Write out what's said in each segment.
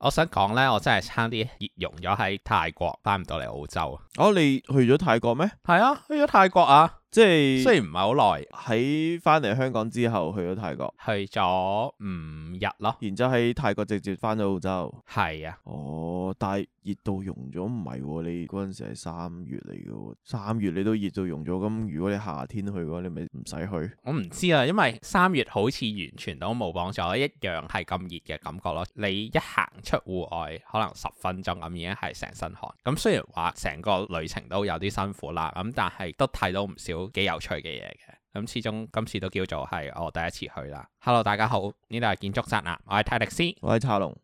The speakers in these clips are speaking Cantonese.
我想講呢，我真係差啲熱溶咗喺泰國，翻唔到嚟澳洲。 哦，你去咗泰國咩？ 係啊，去咗泰國啊。 即係雖然唔係好耐， 喺翻嚟香港之後去咗泰國， 去咗5日咯， 然之後喺泰國直接翻咗澳洲。 係啊， 哦，但係熱到溶咗唔係喎，你嗰陣時係3月嚟嘅喎，3月你都熱到溶咗，咁如果你夏天去嘅話，你咪唔使去。 我唔知啊，因為3月好似完全都冇幫助，一樣係咁熱嘅感覺咯。你一行出戶外，可能10分鐘咁已經係成身汗。咁雖然話成個旅程都有啲辛苦啦，咁但係都睇到唔少幾有趣嘅嘢嘅。咁始終今次都叫做係我第一次去啦。Hello， 大家好，呢度係建築宅男，我係泰迪斯， 我係茶龍。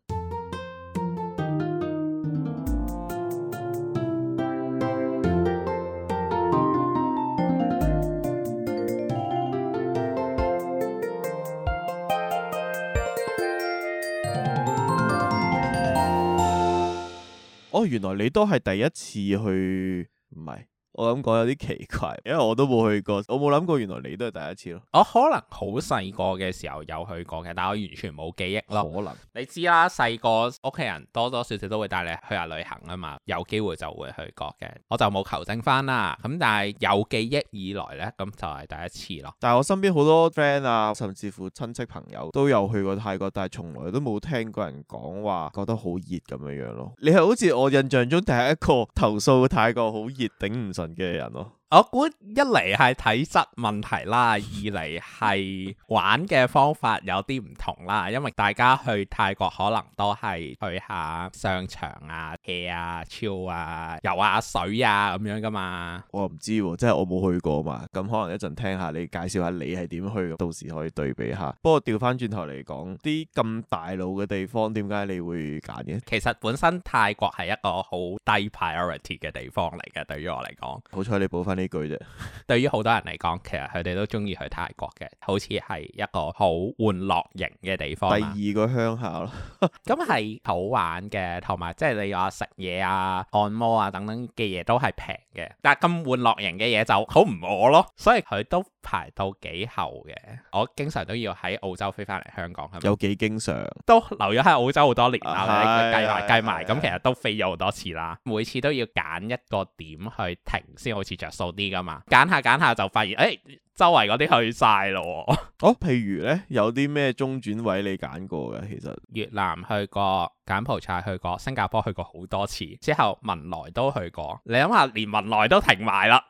哦，原來你都係第一次去，唔係？我咁講有啲奇怪，因為我都冇去過，我冇諗過原來你都係第一次咯。 我可能好細個嘅時候有去過嘅，但係我完全冇記憶咯。可能你知啦，細個屋企人多多少少都會帶你去下旅行啊嘛，有機會就會去過嘅。我就冇求證翻啦，咁但係有記憶以來呢，咁就係第一次咯。 但係我身邊好多 friend 啊，甚至乎親戚朋友都有去過泰國，但係從來都冇聽過人講話覺得好熱咁樣樣咯。你係好似我印象中第一個投訴泰國好熱頂唔順嘅人咯。 我估一嚟係體質問題啦，二嚟係玩嘅方法有啲唔同啦，因為大家去泰國可能都係去下商場啊、hea 啊、chill 啊、游下水啊咁樣噶嘛。 我唔知喎，即係我冇去過嘛，咁可能一陣聽下你介紹下你係點去，到時可以對比下。不過調翻轉頭嚟講，啲咁大路嘅地方，點解你會揀嘅？ 其實本身泰國係一個好低 priority 嘅地方嚟嘅，對於我嚟講。 好彩你補翻呢句啫。 對於好多人嚟講，其實佢哋都中意去泰國嘅，好似係一個好玩樂型嘅地方。 第二個鄉下咯， 咁係好玩嘅，同埋即係你話食嘢啊、按摩啊等等嘅嘢都係平嘅。但係咁玩樂型嘅嘢就好唔我咯，所以佢都排到幾後嘅。我經常都要喺澳洲飛翻嚟香港，係咪？ 有幾經常？ 都留咗喺澳洲好多年啦，計埋咁，其實都飛咗好多次啦。每次都要揀一個點去停先，好似着數啲噶嘛。揀下就發現，周圍嗰啲去晒咯。 哦，譬如呢，有啲咩中轉位你揀過嘅？其實越南去過，柬埔寨去過，新加坡去過好多次，之後文萊都去過。你諗下，連文萊都停埋啦。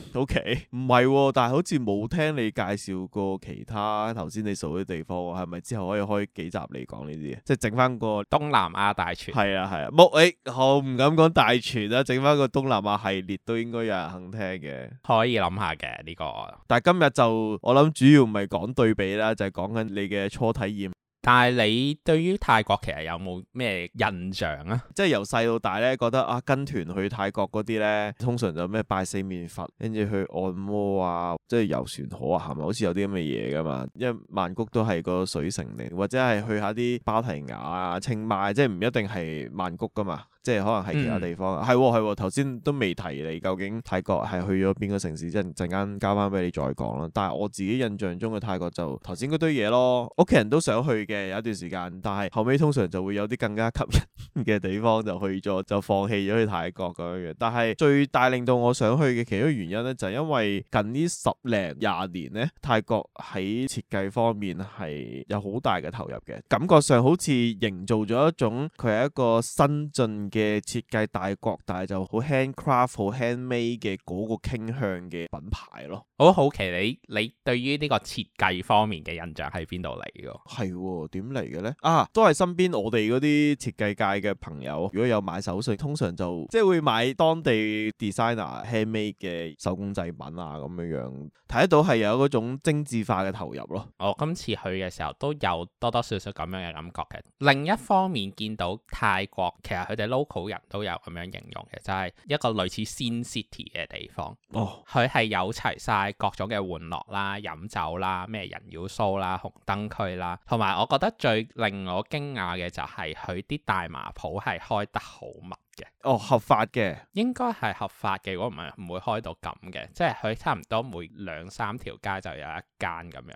OK，唔係喎，但係好似冇聽你介紹過其他頭先你數啲地方喎，係咪之後可以開幾集嚟講呢啲？即係整翻個東南亞大全。 係啊，我唔敢講大全啦，整翻個東南亞系列都應該有人肯聽嘅， 可以諗下嘅呢個。 但係今日就我諗主要唔係講對比啦，就係講緊你嘅初體驗。 但係你對於泰國其實有冇咩印象啊？ 即係由細到大咧，覺得啊跟團去泰國嗰啲咧，通常就咩拜四面佛，跟住去按摩啊，即係遊船河啊，係咪好似有啲咁嘅嘢噶嘛？因為曼谷都係個水城嚟，或者係去下啲芭提雅啊、清邁，即係唔一定係曼谷噶嘛。即係可能係其他地方，係頭先都未提你究竟泰國係去咗邊個城市，即係陣間交翻俾你再講啦。但係我自己印象中嘅泰國就頭先嗰堆嘢咯，屋企人都想去嘅有一段時間，但係後尾通常就會有啲更加吸引嘅地方就去咗，就放棄咗去泰國咁樣嘅。但係最大令到我想去嘅其中一個原因咧，就係因為近呢10零20年咧，泰國喺設計方面係有好大嘅投入嘅，感覺上好似營造咗一種佢係一個新進嘅設計大國，但係就好 handcraft 好 handmade 嘅嗰個傾向嘅品牌咯。 我好奇你對於呢個設計方面嘅印象喺邊度嚟嘅？ 係點嚟嘅咧？都係身邊我哋嗰啲設計界嘅朋友，如果有買手信，通常就即係會買當地 designer handmade 嘅手工製品啊，咁樣睇得到係有嗰種精緻化嘅投入咯。 我今次去嘅時候都有多多少少咁樣嘅感覺嘅。另一方面見到泰國其實佢哋 local 人都有咁樣形容嘅，就係一個類似 Sin City 嘅地方。佢係有齊晒各種嘅玩樂啦、飲酒啦、咩人妖 show 啦、紅燈區啦，同埋我覺得最令我驚訝嘅就係佢啲大麻鋪係開得好密嘅。 合法嘅，應該係合法嘅。如果唔係唔會開到咁嘅，即係佢差唔多每2-3條街就有一間咁樣咯。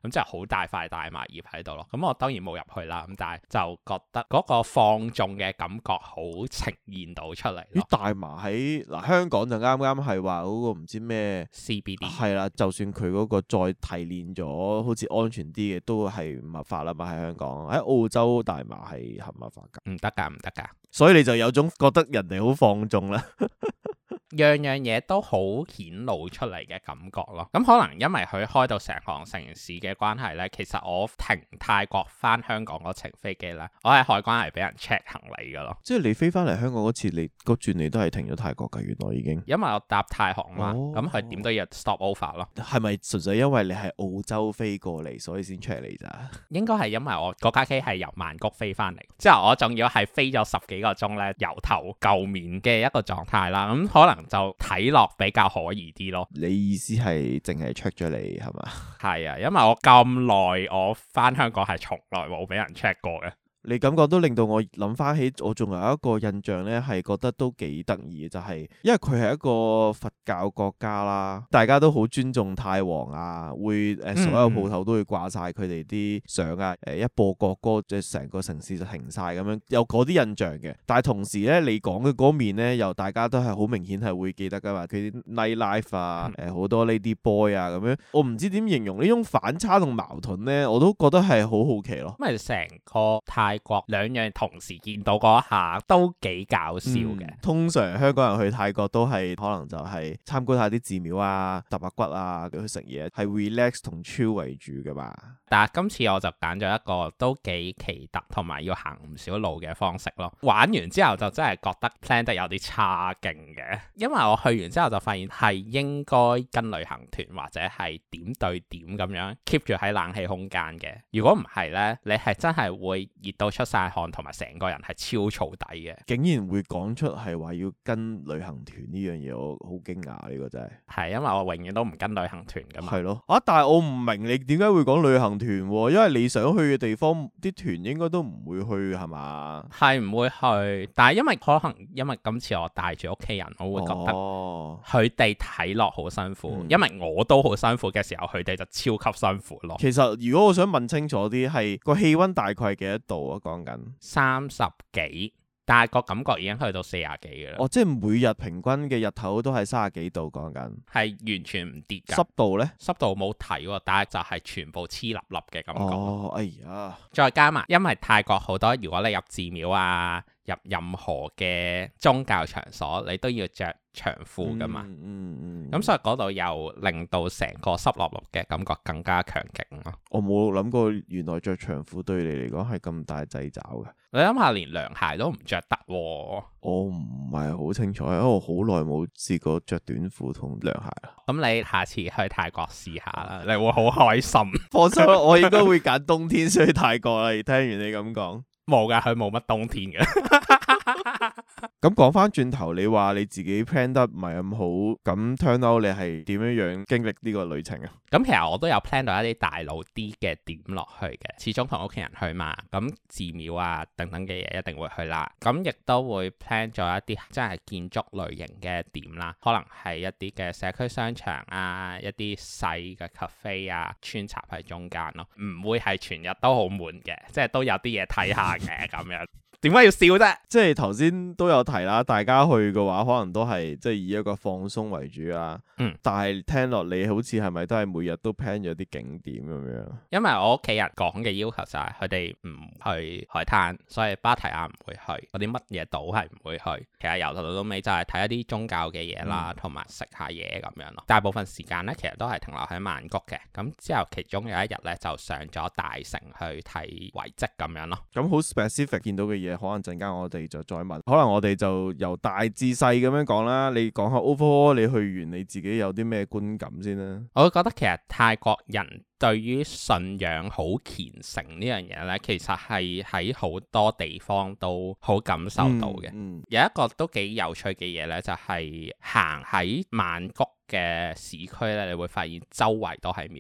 咁即係好大塊大麻葉喺度咯。咁我當然冇入去啦，咁但係就覺得嗰個放縱嘅感覺好呈現到出嚟咯。 大麻喺香港就啱啱係話嗰個唔知咩 CBD 係啦，就算佢嗰個再提煉咗好似安全啲嘅，都係唔合法啦嘛。喺香港，喺澳洲大麻係合唔合法㗎？唔得㗎。所以你就有種覺得人哋好放縱啦。 樣樣嘢都好顯露出嚟嘅感覺咯，咁可能因為佢開到成行城市嘅關係呢，其實我停泰國翻香港嗰程飛機呢，我喺海關係俾人 check 行李噶咯。 即係你飛翻嚟香港嗰次，你個轉你都係停咗泰國噶，原來已經。 因為我搭泰航嘛，咁佢點都要 stop over 咯。 係咪純粹因為你係澳洲飛過嚟，所以先 check 你咋？ 應該係因為我嗰架機係由曼谷飛翻嚟，之後我仲要係飛咗10幾個鐘呢，由頭垢面嘅一個狀態啦，咁可能就睇落比較可疑啲咯。 你意思係淨係 check 咗你係嘛？ 係啊，因為我咁耐我翻香港係從來冇俾人 check 過嘅。 你感覺都令到我諗翻起，我仲有一個印象呢，係覺得都幾得意嘅，就係因為佢係一個佛教國家啦，大家都好尊重泰皇啊，會所有鋪頭都會掛晒佢哋啲相啊，一播國歌，即係成個城市就停晒咁樣，有嗰啲印象嘅。但係同時呢，你講嘅嗰面呢，又大家都係好明顯係會記得噶嘛，佢啲 night life 啊，好多 lady boy 啊咁樣，我唔知點形容呢種反差同矛盾呢，我都覺得係好好奇咯。 因為成個泰國兩樣同時見到嗰一下都幾搞笑嘅。 通常香港人去泰國都係可能就係參觀下啲寺廟啊、揼下骨啊，去食嘢，係 relax 同 chill 為主㗎嘛。 但係今次我就揀咗一個都幾奇特同埋要行唔少路嘅方式咯。玩完之後就真係覺得 plan 得有啲差勁嘅，因為我去完之後就發現係應該跟旅行團或者係點對點咁樣 keep 住喺冷氣空間嘅。如果唔係呢，你係真係會熱到出晒汗，同埋成個人係超燥底嘅。竟然會講出係話要跟旅行團呢樣嘢，我好驚訝，呢個真係。 係因為我永遠都唔跟旅行團噶嘛。 係咯。但係我唔明你點解會講旅行團喎？因為你想去嘅地方，啲團應該都唔會去係嘛？ 係唔會去，但係因為今次我帶住屋企人，我會覺得佢哋睇落好辛苦，因為我都好辛苦嘅時候，佢哋就超級辛苦咯。 其實如果我想問清楚啲，係個氣溫大概係幾多度啊？講緊 30幾，但係個感覺已經去到40幾嘅啦。 即係每日平均嘅日頭都係30幾度，講緊係完全唔跌㗎。 濕度呢？濕度冇睇喎，但係就係全部黐笠笠嘅感覺。 哎呀！再加埋，因為泰國好多，如果你入寺廟啊，入任何嘅宗教場所，你都要着長褲㗎嘛。咁所以嗰度又令到成個濕笠笠嘅感覺更加強勁咯。我冇諗過原來着長褲對你嚟講係咁大掣肘嘅。你諗下，連涼鞋都唔着得喎。我唔係好清楚，因為我好耐冇試過着短褲同涼鞋啦。咁你下次去泰國試下啦，你會好開心。 放心啦，我應該會揀冬天先去泰國啦。聽完你咁講， 冇㗎，佢冇乜冬天嘅。 咁講翻轉頭，你話你自己 plan 得唔係咁好，咁 turn out 你係點樣經歷呢個旅程啊？ 咁其實我都有 plan 到一啲大路啲嘅點落去嘅，始終同屋企人去嘛，咁寺廟啊等等嘅嘢一定會去啦。咁亦都會 plan 咗一啲真係建築類型嘅點啦，可能係一啲嘅社區商場啊，一啲細嘅 cafe 啊，穿插喺中間咯，唔會係全日都好悶嘅，即係都有啲嘢睇下嘅咁樣。點解要笑啫？即係頭先都有提啦，大家去嘅話，可能都係即係以一個放鬆為主啦。但係聽落你好似係咪都係每日都 plan 咗啲景點咁樣？因為我屋企人講嘅要求就係佢哋唔去海灘，所以芭提雅唔會去，嗰啲乜嘢島係唔會去。其實由頭到尾就係睇一啲宗教嘅嘢啦，同埋食下嘢咁樣咯。大部分時間咧，其實都係停留喺曼谷嘅。咁之後其中有一日咧，就上咗大城去睇遺跡咁樣咯。咁好 specific 見到嘅嘢。可能陣間我哋就再問，可能我哋就由大至細咁樣講啦。你講下 overall 你去完你自己有啲咩觀感先啦？我會覺得其實泰國人對於信仰好虔誠呢樣嘢呢，其實係喺好多地方都好感受到嘅。有一個都幾有趣嘅嘢呢，就係行喺曼谷嘅市區呢，你會發現周圍都係廟嘅。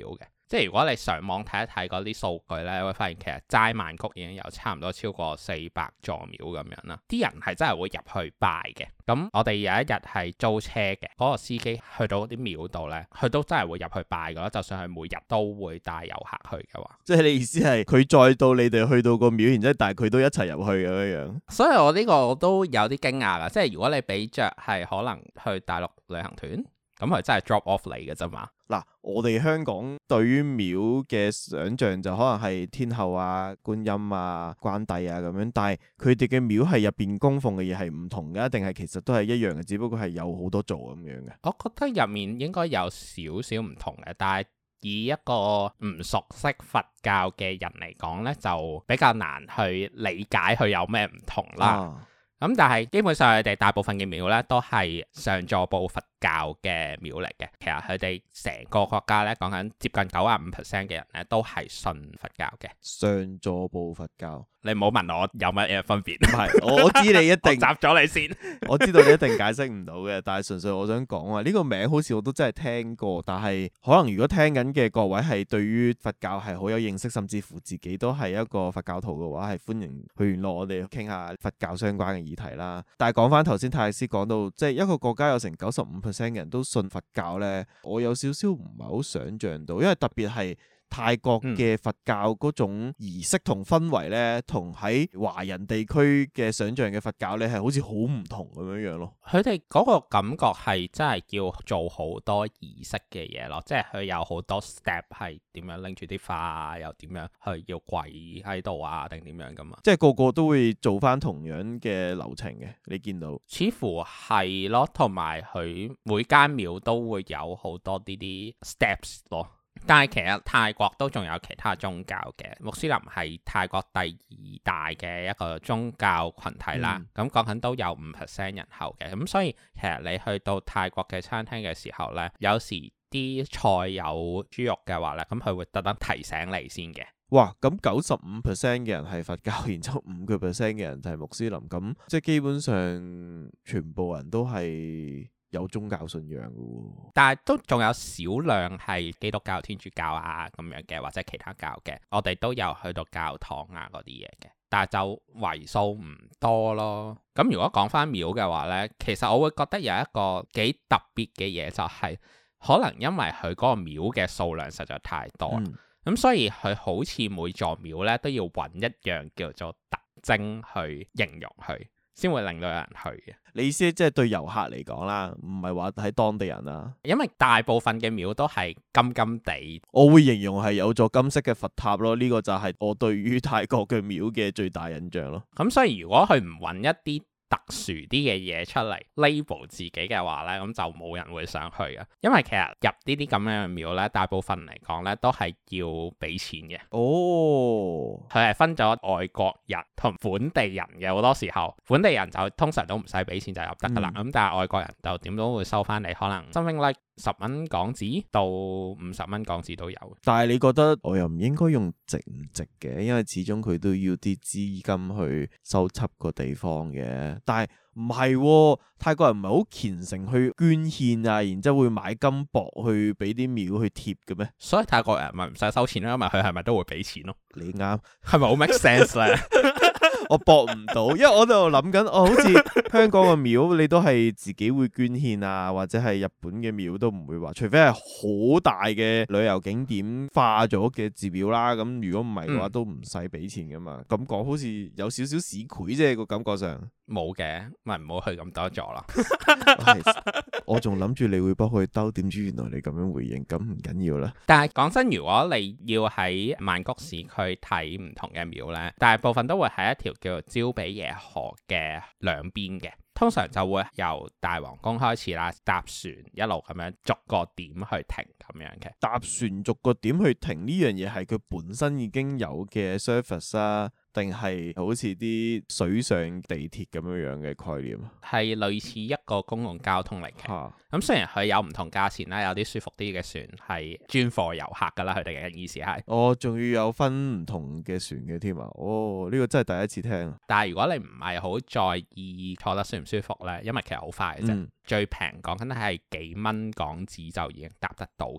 即係如果你上網睇一睇嗰啲數據咧，會發現其實齋曼谷已經有差唔多超過400座廟咁樣啦。啲人係真係會入去拜嘅。咁我哋有一日係租車嘅，嗰個司機去到啲廟度咧，佢都真係會入去拜噶。就算佢每日都會帶遊客去嘅話， 即係你意思係佢再到你哋去到個廟，然之後但係佢都一齊入去咁樣。 所以我呢個都有啲驚訝啦。即係如果你比着係可能去大陸旅行團，咁佢真係 drop off 嚟嘅啫嘛。 嗱，我哋香港對於廟嘅想像就可能係天后啊、觀音啊、關帝啊咁樣，但係佢哋嘅廟係入邊供奉嘅嘢係唔同嘅，定係其實都係一樣嘅，只不過係有好多座咁樣嘅。 我覺得入面應該有少少唔同嘅，但係以一個唔熟悉佛教嘅人嚟講呢，就比較難去理解佢有咩唔同啦。咁但係基本上佢哋大部分嘅廟咧都係上座部佛教嘅廟嚟嘅。其實佢哋成個國家咧講緊接近95% 嘅人咧都係信佛教嘅。 上座部佛教， 你唔好問我有乜嘢分別。 唔係，我知你一定答咗你先。 我知道你一定解釋唔到嘅，但係純粹我想講話呢個名好似我都真係聽過，但係可能如果聽緊嘅各位係對於佛教係好有認識，甚至乎自己都係一個佛教徒嘅話，係歡迎去聯絡我哋傾下佛教相關嘅議題啦。但係講翻頭先泰斯講到，即係一個國家有成95%嘅人都信佛教呢，我有少少唔係好想像到，因為特別係泰國嘅佛教嗰種儀式同氛圍呢，同喺華人地區嘅想像嘅佛教呢，係好似好唔同咁樣樣咯。 佢哋嗰個感覺係真係要做好多儀式嘅嘢咯，即係佢有好多 step 係點樣拎住啲花，又點樣去要跪喺度啊，定點樣噶嘛？ 即係個個都會做翻同樣嘅流程嘅，你見到？似乎係咯，同埋佢每間廟都會有好多呢啲 steps 咯。但係其實泰國都仲有其他宗教嘅，穆斯林係泰國第2大嘅一個宗教群體啦。咁講緊都有5% 人口嘅，咁所以其實你去到泰國嘅餐廳嘅時候呢，有時啲菜有豬肉嘅話呢，咁佢會特登提醒你先嘅。 哇！咁95% 嘅人係佛教，然之後5% 嘅人就係穆斯林，咁即係基本上全部人都係有宗教信仰嘅喎，但係都仲有少量係基督教、天主教啊咁樣嘅，或者其他教嘅。我哋都有去到教堂啊嗰啲嘢嘅，但係就為數唔多咯。咁如果講翻廟嘅話呢，其實我會覺得有一個幾特別嘅嘢，就係可能因為佢嗰個廟嘅數量實在太多，咁所以佢好似每座廟呢都要揾一樣叫做特徵去形容佢，先會令到有人去嘅。 你意思即係對遊客嚟講啦，唔係話喺當地人啦。 因為大部分嘅廟都係金金地， 我會形容係有座金色嘅佛塔咯。呢個就係我對於泰國嘅廟嘅最大印象咯。 咁所以如果佢唔揾一啲特殊啲嘅嘢出嚟 label 自己嘅話呢，咁就冇人會想去嘅。因為其實入呢啲咁樣嘅廟呢，大部分嚟講呢都係要俾錢嘅。哦，佢係分咗外國人同本地人嘅，好多時候本地人就通常都唔使俾錢就入得噶啦。咁但係外國人就點都會收翻你，可能 something like 10蚊港紙到50蚊港紙都有。 但係你覺得我又唔應該用值唔值嘅，因為始終佢都要啲資金去修葺個地方嘅。但係唔係，泰國人唔係好虔誠去捐獻啊，然之後會買金箔去俾啲廟去貼嘅咩？ 所以泰國人咪唔使收錢咯，因為佢係咪都會俾錢咯？ 你啱， 係咪好 make sense 咧？ 我搏唔到，因為我就諗緊，好似香港嘅廟你都係自己會捐獻啊，或者係日本嘅廟都唔會話，除非係好大嘅旅遊景點化咗嘅寺廟啦。咁如果唔係嘅話，都唔使俾錢噶嘛。咁講好似有少少市儈啫，個感覺上。 冇嘅，咪唔好去咁多座啦。 我仲諗住你會幫佢兜，點知原來你咁樣回應，咁唔緊要啦。 但係講真，如果你要喺曼谷市區睇唔同嘅廟呢，大部分都會喺一條叫做焦比耶河嘅兩邊嘅。通常就會由大皇宮開始啦，搭船一路咁樣逐個點去停咁樣嘅。搭船逐個點去停呢樣嘢係佢本身已經有嘅 service 啊，定係好似啲水上地鐵咁樣嘅概念？ 係類似一個公共交通嚟嘅。咁雖然佢有唔同價錢啦，有啲舒服啲嘅船係專貨遊客噶啦，佢哋嘅意思係。哦，仲要有分唔同嘅船嘅添啊！哦，呢個真係第一次聽。但係如果你唔係好在意坐得舒唔舒服呢，因為其實好快嘅啫，最平講緊係幾蚊港紙就已經搭得到噶啦。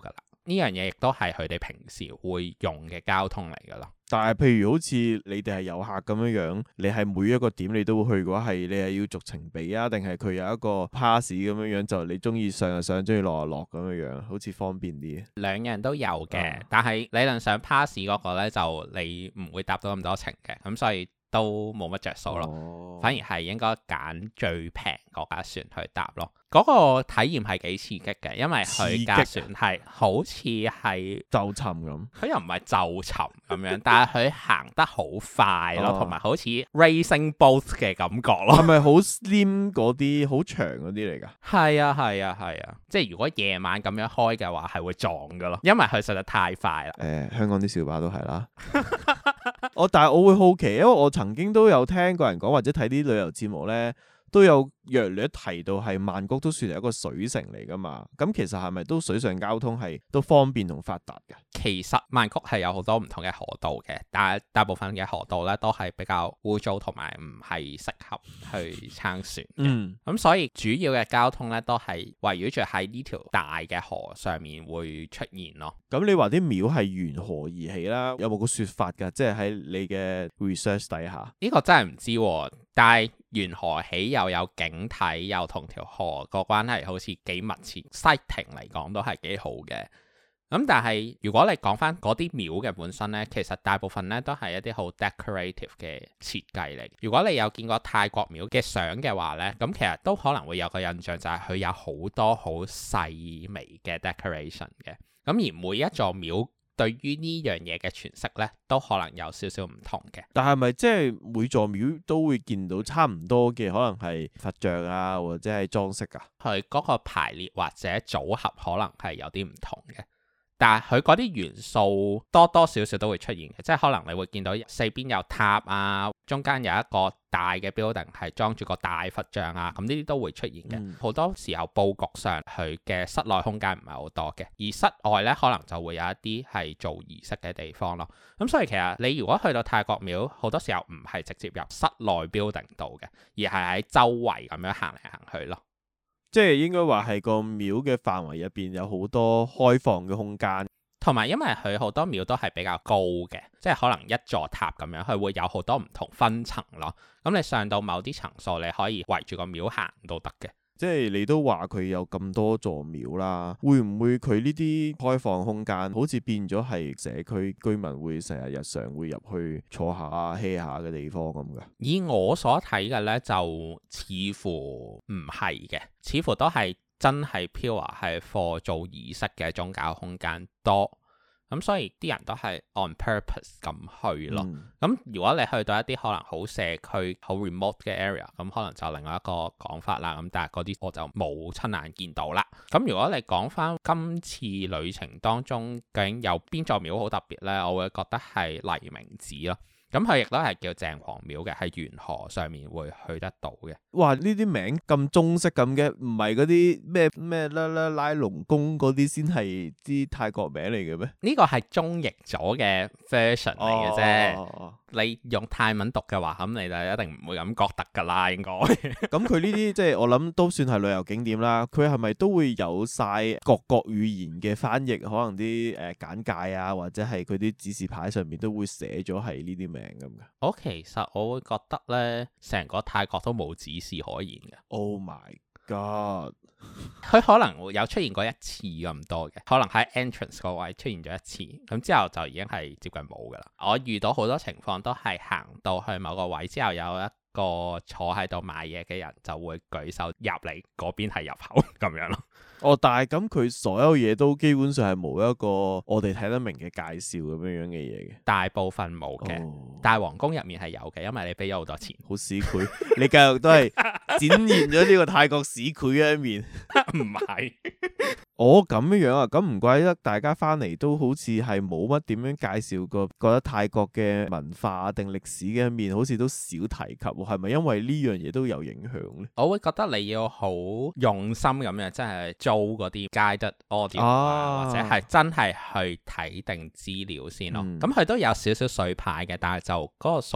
呢樣嘢亦都係佢哋平時會用嘅交通嚟㗎咯。 但係譬如好似你哋係遊客咁樣，你係每一個點你都會去嘅話，係你係要逐程俾啊，定係佢有一個 pass 咁樣，就你中意上就上，中意落就落咁樣，好似方便啲。 兩樣都有嘅，但係理論上 pass 嗰個呢，就你唔會搭到咁多程嘅，咁所以都冇乜着數咯。反而係應該揀最平嗰架船去搭咯。嗰個體驗係幾刺激嘅，因為佢架船係好似係就沉咁， 佢又唔係就沉咁樣，但係佢行得好快咯，同埋好似 racing boat 嘅感覺咯。係咪好 slim 嗰啲好長嗰啲嚟㗎？ 係啊係啊係啊，即係如果夜晚咁樣開嘅話，係會撞㗎咯，因為佢實在太快啦。 香港啲小巴都係啦。但係我會好奇，因為我曾經都有聽過人講，或者睇啲旅遊節目咧，都有約略提到係曼谷都算係一個水城嚟㗎嘛。咁其實係咪都水上交通係都方便同發達嘅？ 其實曼谷係有好多唔同嘅河道嘅，但係大部分嘅河道咧都係比較污糟同埋唔係適合去撐船嘅。咁所以主要嘅交通咧都係圍繞住喺呢條大嘅河上面會出現咯。 咁你話啲廟係沿河而起啦，有冇個說法㗎？即係喺你嘅 research 底下， 呢個真係唔知喎。但係沿河起又有景睇，又同條河個關係好似幾密切，sighting 嚟講都係幾好嘅。咁但係如果你講翻嗰啲廟嘅本身呢，其實大部分呢都係一啲好 decorative 嘅設計嚟。如果你有見過泰國廟嘅相嘅話呢，咁其實都可能會有個印象就係佢有好多好細微嘅 decoration 嘅。咁而每一座廟對於呢樣嘢嘅詮釋呢，都可能有少少唔同嘅。 但係咪即係每座廟都會見到差唔多嘅，可能係佛像啊，或者係裝飾啊？ 佢嗰個排列或者組合可能係有啲唔同嘅。但係佢嗰啲元素多多少少都會出現嘅，即係可能你會見到四邊有塔啊，中間有一個大嘅 building 係裝住個大佛像啊，咁呢啲都會出現嘅。好多時候佈局上佢嘅室內空間唔係好多嘅，而室外呢可能就會有一啲係做儀式嘅地方咯。咁所以其實你如果去到泰國廟，好多時候唔係直接入室內 building 度嘅，而係喺周圍咁樣行嚟行去咯。 即係應該話係個廟嘅範圍入邊有好多開放嘅空間， 同埋因為佢好多廟都係比較高嘅，即係可能一座塔咁樣，佢會有好多唔同分層咯。咁你上到某啲層數，你可以圍住個廟行都得嘅。 即係你都話佢有咁多座廟啦，會唔會佢呢啲開放空間好似變咗係社區居民會成日日常會入去坐下歇下嘅地方咁㗎？ 以我所睇嘅呢，就似乎唔係嘅，似乎都係真係 pure 係 for 做儀式嘅宗教空間多。咁所以啲人都係 on purpose 咁去咯。咁如果你去到一啲可能好社區、好 remote 嘅 area，咁可能就另外一個講法啦。咁但係嗰啲我就冇親眼見到啦。咁如果你講翻今次旅程當中究竟有邊座廟好特別呢？我會覺得係黎明寺咯。咁佢亦都係叫鄭王廟嘅，喺沿河上面會去得到嘅。哇！ 呢啲名咁中式咁嘅，唔係嗰啲咩拉龍宮嗰啲先係啲泰國名嚟嘅咩？ 呢個係中譯咗嘅 version 嚟嘅啫。你用泰文讀嘅話，咁你就一定唔會咁覺得㗎啦，應該。 咁佢呢啲即係我諗都算係旅遊景點啦。佢係咪都會有晒各國語言嘅翻譯？可能啲簡介啊，或者係佢啲指示牌上面都會寫咗係呢啲名咁嘅。 我其實我會覺得呢，成個泰國都冇指示可言嘅。 Oh my god！ 佢可能會有出現過一次咁多嘅，可能喺 entrance 個位出現咗一次，咁之後就已經係接近冇噶啦。我遇到好多情況都係行到去某個位之後，有一個坐喺度買嘢嘅人就會舉手入嚟嗰邊係入口咁樣咯。 但係咁佢所有嘢都基本上係冇一個我哋睇得明嘅介紹咁樣嘅嘢嘅。大部分冇嘅，但係皇宮入面係有嘅，因為你俾咗好多錢。 好市儈，你繼續都係展現咗呢個泰國市儈嘅一面。 唔係。 咁樣啊，咁唔怪得大家翻嚟都好似係冇乜點樣介紹過，覺得泰國嘅文化定歷史嘅一面好似都少提及，係咪因為呢樣嘢都有影響呢？我會覺得你要好用心咁樣，真係租嗰啲 guided audio，或者係真係去睇定資料先咯。咁佢都有少少水牌嘅，但係就嗰個數量唔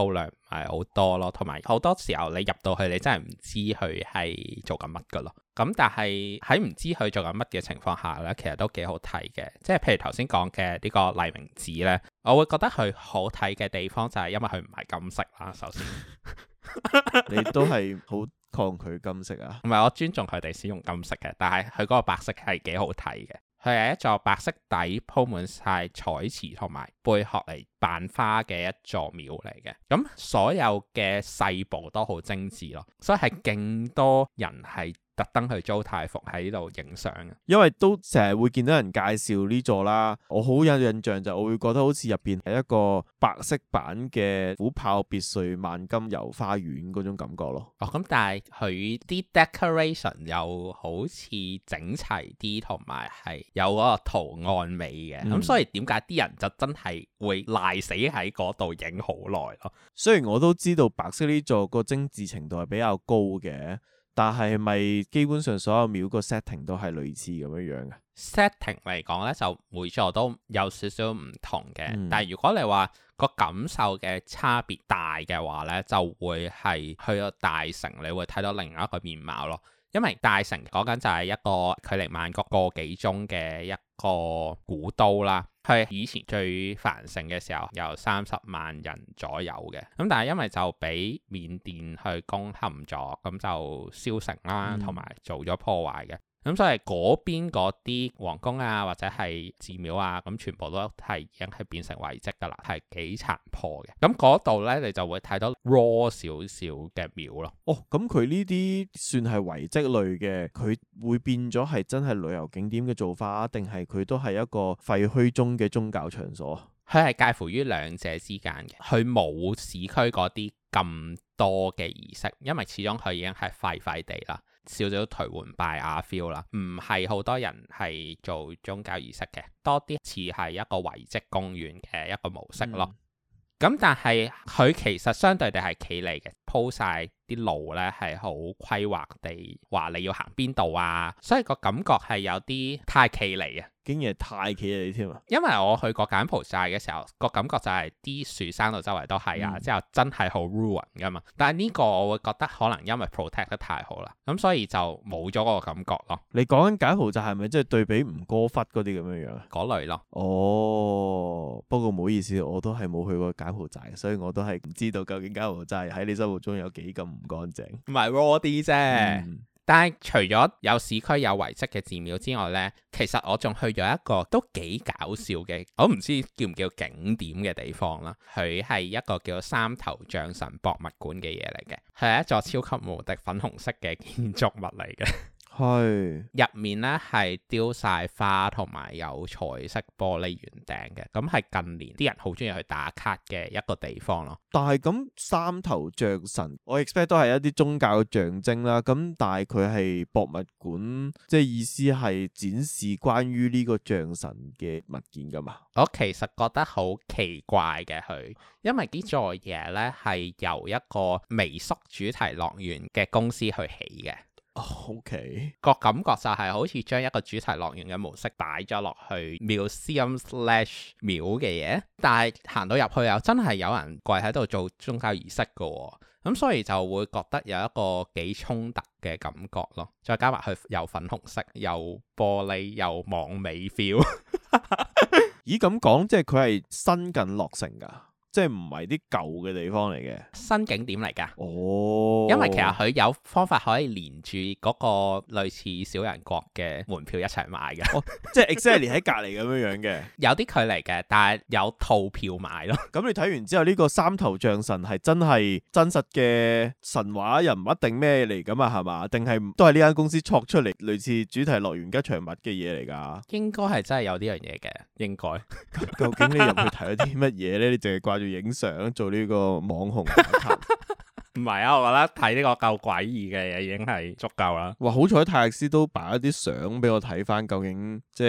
係好多咯，同埋好多時候你入到去你真係唔知佢係做緊乜噶咯。咁但係喺唔知佢做緊乜嘅情況下呢，其實都幾好睇嘅。即係譬如頭先講嘅呢個黎明子呢，我會覺得佢好睇嘅地方就係因為佢唔係金色啦。首先， 你都係好抗拒金色啊？ 唔係，我尊重佢哋使用金色嘅，但係佢嗰個白色係幾好睇嘅。佢係一座白色底鋪滿晒彩瓷同埋貝殼嚟扮花嘅一座廟嚟嘅。咁所有嘅細部都好精緻咯，所以係勁多人係特登去租太服喺呢度影相嘅， 因為都成日會見到人介紹呢座啦。我好有印象就我會覺得好似入邊係一個白色版嘅虎豹別墅萬金油花園嗰種感覺咯。 哦，咁但係佢啲 decoration 又好似整齊啲，同埋係有嗰個圖案美嘅。咁所以點解啲人就真係會賴死喺嗰度影好耐咯？ 雖然我都知道白色呢座個精緻程度係比較高嘅。但係咪基本上所有廟個 setting 都係類似咁樣樣嘅 setting 嚟講呢，就每座都有少少唔同嘅。但係如果你話個感受嘅差別大嘅話呢，就會係去到大城，你會睇到另外一個面貌咯。因為大城講緊就係一個距離曼谷個幾鐘嘅一個古都啦，係以前最繁盛嘅時候有30萬人左右嘅，咁但係因為就俾緬甸去攻陷咗，咁就燒城啦，同埋做咗破壞嘅。咁所以嗰邊嗰啲皇宮啊，或者係寺廟啊，咁全部都係已經係變成遺跡噶啦，係幾殘破嘅。咁嗰度呢，你就會睇到 raw 少少嘅廟咯。 哦，咁佢呢啲算係遺跡類嘅，佢會變咗係真係旅遊景點嘅做法，定係佢都係一個廢墟中嘅宗教場所？ 佢係介乎於兩者之間嘅，佢冇市區嗰啲咁多嘅儀式，因為始終佢已經係廢廢地啦。少少頹垣敗瓦 feel 啦，唔係好多人係做宗教儀式嘅，多啲似係一個遺跡公園嘅一個模式咯。咁但係佢其實相對地係企理嘅，鋪晒啲路呢係好規劃地話你要行邊度啊，所以個感覺係有啲太企理啊。 竟然係太企理添啊！ 因為我去過柬埔寨嘅時候，個感覺就係啲樹生到周圍都係啊，之後真係好 ruin 噶嘛。但係呢個我會覺得可能因為 protect 得太好啦，咁所以就冇咗嗰個感覺咯。 你講緊柬埔寨係咪即係對比吳哥窟嗰啲咁樣樣啊？ 嗰類咯。 哦，不過唔好意思，我都係冇去過柬埔寨，所以我都係唔知道究竟柬埔寨喺你心目中有幾咁唔乾淨。 唔係 raw 啲啫。但係除咗有市區有遺跡嘅寺廟之外呢，其實我仲去咗一個都幾搞笑嘅，我唔知叫唔叫景點嘅地方啦。佢係一個叫三頭象神博物館嘅嘢嚟嘅，係一座超級無敵粉紅色嘅建築物嚟嘅。係入面咧係雕晒花同埋有彩色玻璃圓頂嘅，咁係近年啲人好中意去打卡嘅一個地方咯。 但係咁三頭象神，我 expect 都係一啲宗教嘅象徵啦。咁但係佢係博物館，即係意思係展示關於呢個象神嘅物件噶嘛？ 我其實覺得好奇怪嘅佢，因為呢座嘢咧係由一個微縮主題樂園嘅公司去起嘅。 OK， 個感覺就係好似將一個主題樂園嘅模式擺咗落去 museum/ 廟嘅嘢，但係行到入去又真係有人跪喺度做宗教儀式㗎喎，咁所以就會覺得有一個幾衝突嘅感覺咯。再加埋佢又粉紅色，又玻璃，又網美 feel。 咦，咁講即係佢係新近落成㗎？即係唔係啲舊嘅地方嚟嘅新景點嚟㗎。 哦， 因為其實佢有方法可以連住嗰個類似小人國嘅門票一齊買嘅。 即係 exactly 喺隔離咁樣樣嘅。 有啲距離嘅，但係有套票買咯。 咁你睇完之後，呢個三頭象神係真係真實嘅神話人物定咩嚟㗎嘛？係嘛？定係都係呢間公司創出嚟類似主題樂園吉祥物嘅嘢嚟㗎？ 應該係真係有呢樣嘢嘅，應該。 究竟你入去睇咗啲乜嘢咧？你淨係掛住影相做呢個網紅打卡？ 唔係啊，我覺得睇呢個夠詭異嘅嘢已經係足夠啦。 哇，好彩泰勒斯都擺一啲相俾我睇翻，究竟即係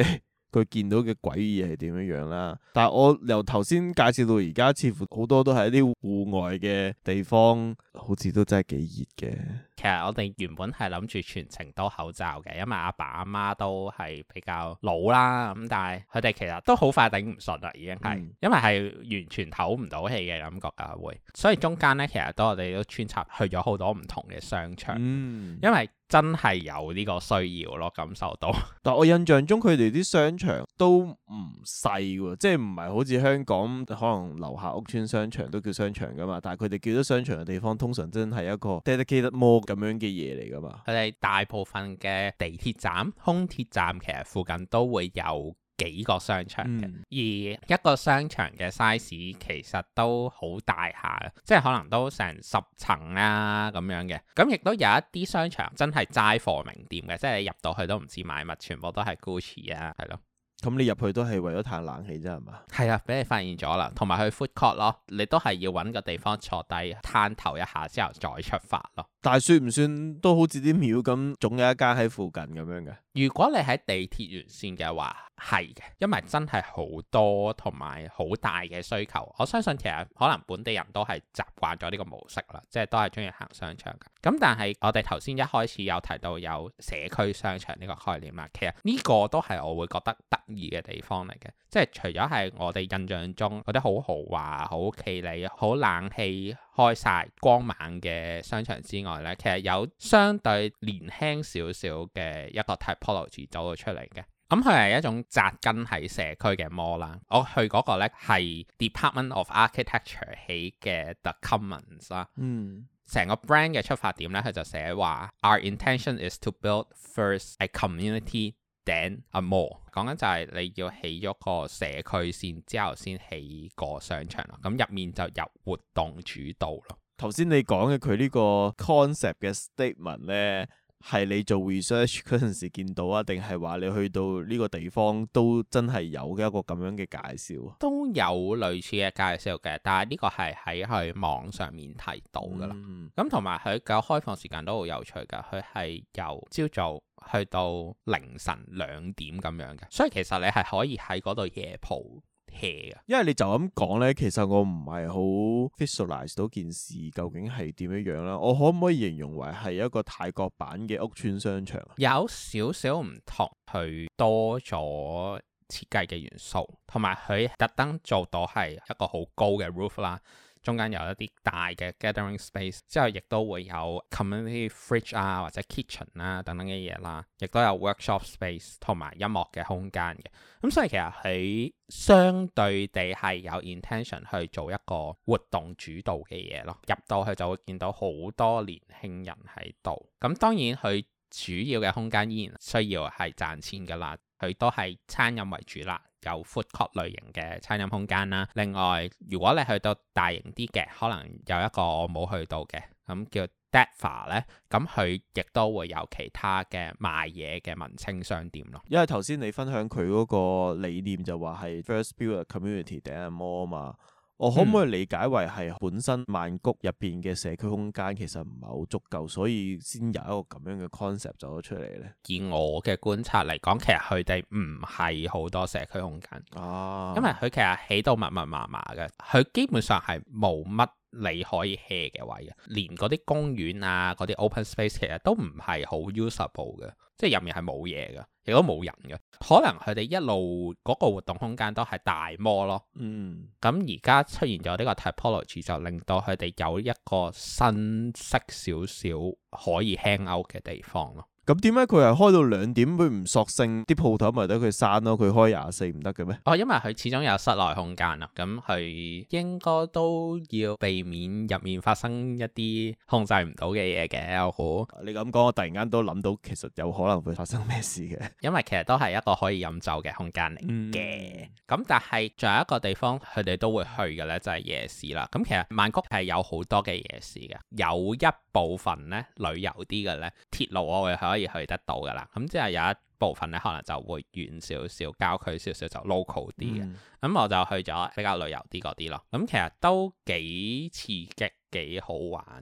佢見到嘅詭異係點樣樣啦。但係我由頭先介紹到而家，似乎好多都係一啲戶外嘅地方，好似都真係幾熱嘅。 其實我哋原本係諗住全程都口罩嘅，因為阿爸阿媽都係比較老啦，咁但係佢哋其實都好快頂唔順啦，已經係，因為係完全唞唔到氣嘅感覺㗎會，所以中間咧其實我哋都穿插去咗好多唔同嘅商場，因為真係有呢個需要咯，感受到。 但我印象中佢哋啲商場都唔細喎，即係唔係好似香港可能樓下屋邨商場都叫商場㗎嘛，但係佢哋叫咗商場嘅地方，通常真係一個 dedicated mall 咁樣嘅嘢嚟㗎嘛。佢哋大部分嘅地鐵站、空鐵站其實附近都會有幾個商場嘅，而一個商場嘅 size 其實都好大下，即係可能都成10層啊咁樣嘅。咁亦都有一啲商場真係齋貨名店嘅，即係你入到去都唔知買乜，全部都係 Gucci 啊，係咯。 咁你入去都係為咗嘆冷氣啫係嘛？係啊，俾你發現咗啦，同埋去 food court 咯，你都係要揾個地方坐低攤頭一下之後再出發咯。 但係算唔算都好似啲廟咁，總有一間喺附近咁樣嘅？ 如果你喺地鐵沿線嘅話，係嘅，因為真係好多同埋好大嘅需求。我相信其實可能本地人都係習慣咗呢個模式啦，即係都係中意行商場嘅。咁但係我哋頭先一開始有提到有社區商場呢個概念啦，其實呢個都係我會覺得得意嘅地方嚟嘅。即係除咗係我哋印象中嗰啲好豪華、好企理、好冷氣開晒、光猛嘅商場之外呢，其實有相對年輕少少嘅一個 typology 走咗出嚟嘅。咁佢係一種紮根喺社區嘅 mall 啦。我去嗰個呢係 Department of Architecture 起嘅 The Commons 啦。成個 brand 嘅出發點呢，佢就寫話 Our intention is to build first a community then a mall。講緊就係你要起咗個社區先，之後先起個商場咯。咁入面就由活動主導咯。頭先你講嘅佢呢個 concept 嘅 statement 呢，係你做 research 嗰陣時見到啊，定係話你去到呢個地方都真係有嘅一個咁樣嘅介紹？都有類似嘅介紹嘅，但係呢個係喺佢網上面提到噶啦。咁同埋佢嘅開放時間都好有趣噶，佢係由朝早去到凌晨2點咁樣嘅，所以其實你係可以喺嗰度夜蒲。因為你就咁講呢，其實我唔係好 visualize 到件事究竟係點樣樣啦。我可唔可以形容為係一個泰國版嘅屋邨商場？有少少唔同，佢多咗設計嘅元素，同埋佢特登做到係一個好高嘅 roof 啦。中間有一啲大嘅 gathering space， 之後亦都會有 community fridge 啊或者 kitchen 啊等等嘅嘢啦，亦都有 workshop space 同埋音樂嘅空間嘅。咁所以其實佢相對地係有 intention 去做一個活動主導嘅嘢咯。入到去就會見到好多年輕人喺度。咁當然佢主要嘅空間依然需要係賺錢噶啦，佢都係餐飲為主啦。有 food court 類型嘅餐飲空間啦。另外，如果你去到大型啲嘅，可能有一個我冇去到嘅，咁叫 Decor 咧，咁佢亦都會有其他嘅賣嘢嘅文青商店咯。因為頭先你分享佢嗰個理念就話係 First build a community then a mall 嘛。我可唔可以理解為係本身曼谷入邊嘅社區空間其實唔係好足夠，所以先有一個咁樣嘅 concept 走咗出嚟呢？以我嘅觀察嚟講，其實佢哋唔係好多社區空間，因為佢其實起到密密麻麻嘅，佢基本上係冇乜你可以 hea 嘅位嘅，連嗰啲公園啊、嗰啲 open space 其實都唔係好 usable 嘅，即係入面係冇嘢嘅，亦都冇人嘅。可能佢哋一路嗰個活動空間都係大 mall 咯。咁而家出現咗呢個 typology 就令到佢哋有一個新式少少可以 hang out 嘅地方咯。咁點解佢係開到2點，佢唔索性啲鋪頭咪得佢閂咯？佢開24唔得嘅咩？因為佢始終有室內空間啦，咁佢應該都要避免入面發生一啲控制唔到嘅嘢嘅。我估你咁講，我突然間都諗到，其實有可能會發生咩事嘅。因為其實都係一個可以飲酒嘅空間嚟嘅。咁但係仲有一個地方，佢哋都會去嘅咧，就係夜市啦。咁其實曼谷係有好多嘅夜市嘅，有一部分咧旅遊啲嘅咧，鐵路我會可以去得到噶啦，咁即係有一部分咧可能就會遠少少，郊區少少就 local 啲嘅，咁我就去咗比較旅遊啲嗰啲咯。咁其實都幾刺激，幾好玩嘅。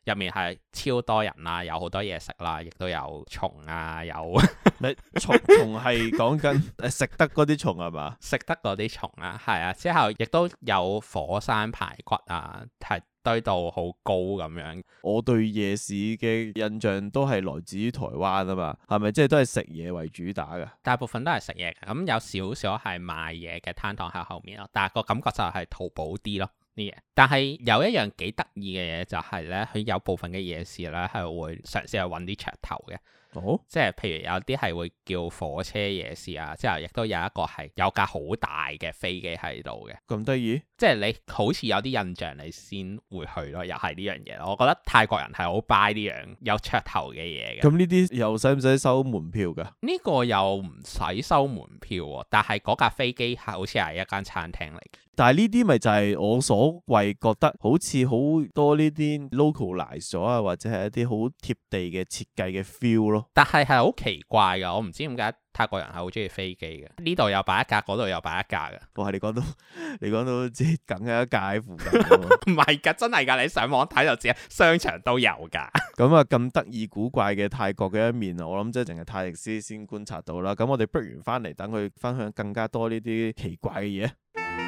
入面係超多人啦，有好多嘢食啦，亦都有蟲啊，有蟲係講緊食得嗰啲蟲係嘛？ 食得嗰啲蟲啊，係啊，之後亦都有火山排骨啊，係堆到好高咁樣。 我對夜市嘅印象都係來自於台灣啊嘛，係咪即係都係食嘢為主打㗎？ 大部分都係食嘢嘅，咁有少少係賣嘢嘅攤檔喺後面咯，但係個感覺就係淘寶啲咯啲嘢。但係有一樣幾得意嘅嘢就係咧，佢有部分嘅夜市咧係會嘗試去揾啲噱頭嘅。 哦， 即係譬如有啲係會叫火車夜市啊，之後亦都有一個係有架好大嘅飛機喺度嘅。 咁得意？ 即係你好似有啲印象你先會去咯，又係呢樣嘢咯。我覺得泰國人係好 buy 呢樣有噱頭嘅嘢嘅。 咁呢啲又使唔使收門票㗎？ 呢個又唔使收門票喎，但係嗰架飛機係好似係一間餐廳嚟嘅。 但係呢啲咪就係我所謂覺得好似好多呢啲 localize 咗啊，或者係一啲好貼地嘅設計嘅 feel 咯。 但係好奇怪㗎，我唔知點解泰國人係好中意飛機嘅。呢度又擺一架，嗰度又擺一架嘅。 哇！你講到即係梗係一架喺附近喎。 唔係㗎，真係㗎，你上網睇就知，商場都有㗎。 咁啊，咁得意古怪嘅泰國嘅一面，我諗即係淨係泰迪斯先觀察到啦。咁我哋不如翻嚟等佢分享更加多呢啲奇怪嘅嘢。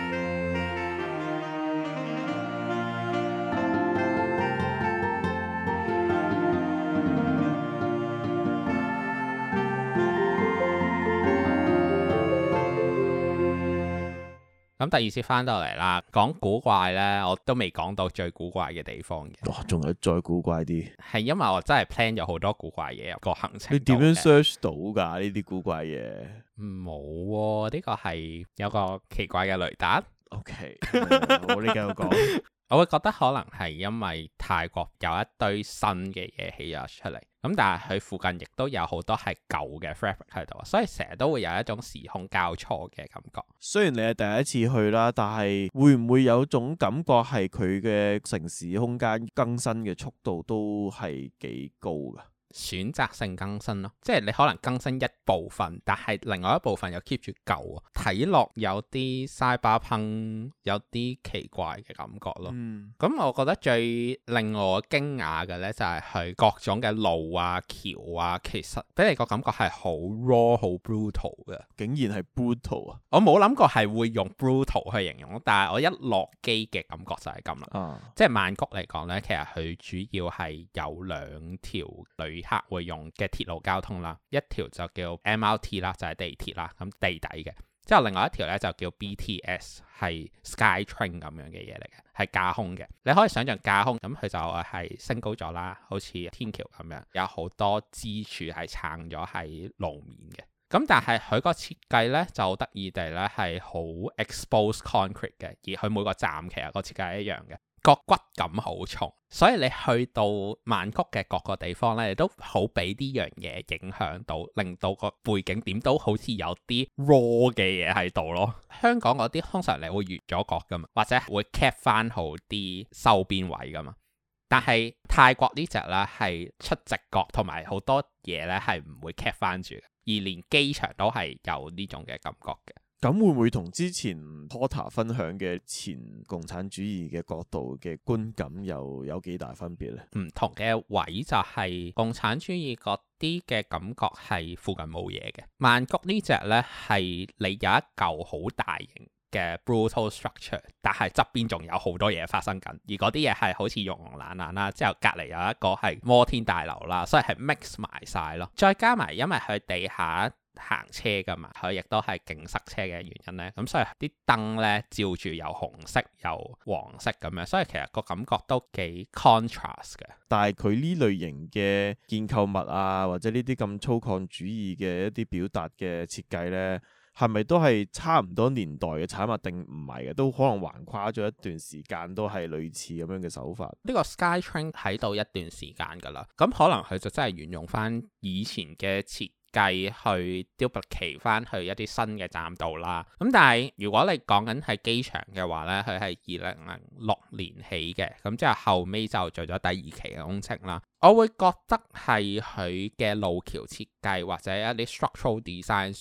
咁第二次翻到嚟啦，講古怪呢，我都未講到最古怪嘅地方嘅。 哇，仲有再古怪啲？ 係因為我真係 plan 咗好多古怪嘢入個行程。 你點樣 search 到㗎呢啲古怪嘢？ 冇喎，呢個係有個奇怪嘅雷達。 OK，我呢繼續講。 我會覺得可能係因為泰國有一堆新嘅嘢起咗出嚟，咁但係佢附近亦都有好多係舊嘅 fabric 喺度，所以成日都會有一種時空交錯嘅感覺。 雖然你係第一次去啦，但係會唔會有種感覺係佢嘅城市空間更新嘅速度都係幾高㗎？ 選擇性更新咯，即係你可能更新一部分，但係另外一部分又 keep 住舊啊，睇落有啲 cyberpunk，有啲奇怪嘅感覺咯。咁我覺得最令我驚訝嘅呢，就係佢各種嘅路啊、橋啊，其實俾你個感覺係好 raw、好 brutal 嘅。竟然係 brutal 啊！我冇諗過係會用 brutal 去形容，但係我一落機嘅感覺就係咁啦。即係曼谷嚟講呢，其實佢主要係有兩條客會用嘅鐵路交通啦，一條就叫 MRT 啦，就係地鐵啦，咁地底嘅。之後另外一條咧就叫 BTS，係 Skytrain 咁樣嘅嘢嚟嘅，係架空嘅。你可以想象架空，咁佢就係升高咗啦，好似天橋咁樣，有好多支柱係撐咗喺路面嘅。咁但係佢個設計咧就得意地咧係好 exposed concrete 嘅，而佢每個站其實個設計係一樣嘅。個骨感好重，所以你去到曼谷嘅各個地方咧，你都好俾呢樣嘢影響到，令到個背景點都好似有啲 raw 嘅嘢喺度咯。香港嗰啲通常你會越咗角噶嘛，或者會 cap 翻好啲收邊位噶嘛，但係泰國呢隻咧係出直角，同埋好多嘢咧係唔會 cap 翻住，而連機場都係有呢種嘅感覺嘅。 咁會唔會同之前 Porter 分享嘅前共產主義嘅角度嘅觀感又有幾大分別呢？唔同嘅位就係共產主義嗰啲嘅感覺係附近冇嘢嘅，曼谷呢隻呢係你有一嚿好大型嘅 brutal structure， 但係側邊仲有好多嘢發生緊，而嗰啲嘢係好似溶溶爛爛啦，之後隔離有一個係摩天大樓啦，所以係 mix 埋晒咯，再加埋因為佢地下行車噶嘛，佢亦都係勁塞車嘅原因呢。咁所以啲燈呢，照住有紅色有黃色咁樣，所以其實個感覺都幾 contrast 嘅。 但係佢呢類型嘅建構物啊，或者呢啲咁粗獷主義嘅一啲表達嘅設計呢，係咪都係差唔多年代嘅產物定唔係嘅？都可能橫跨咗一段時間，都係類似咁樣嘅手法。 呢個 Skytrain 喺度一段時間噶啦，咁可能佢就真係沿用翻以前嘅設計去 duplicate 翻去一啲新嘅站度啦。咁但係如果你講緊係機場嘅話呢，佢係2006年起嘅，咁之後後尾就做咗第二期嘅工程啦。我會覺得係佢嘅路橋設計或者一啲 structural design 上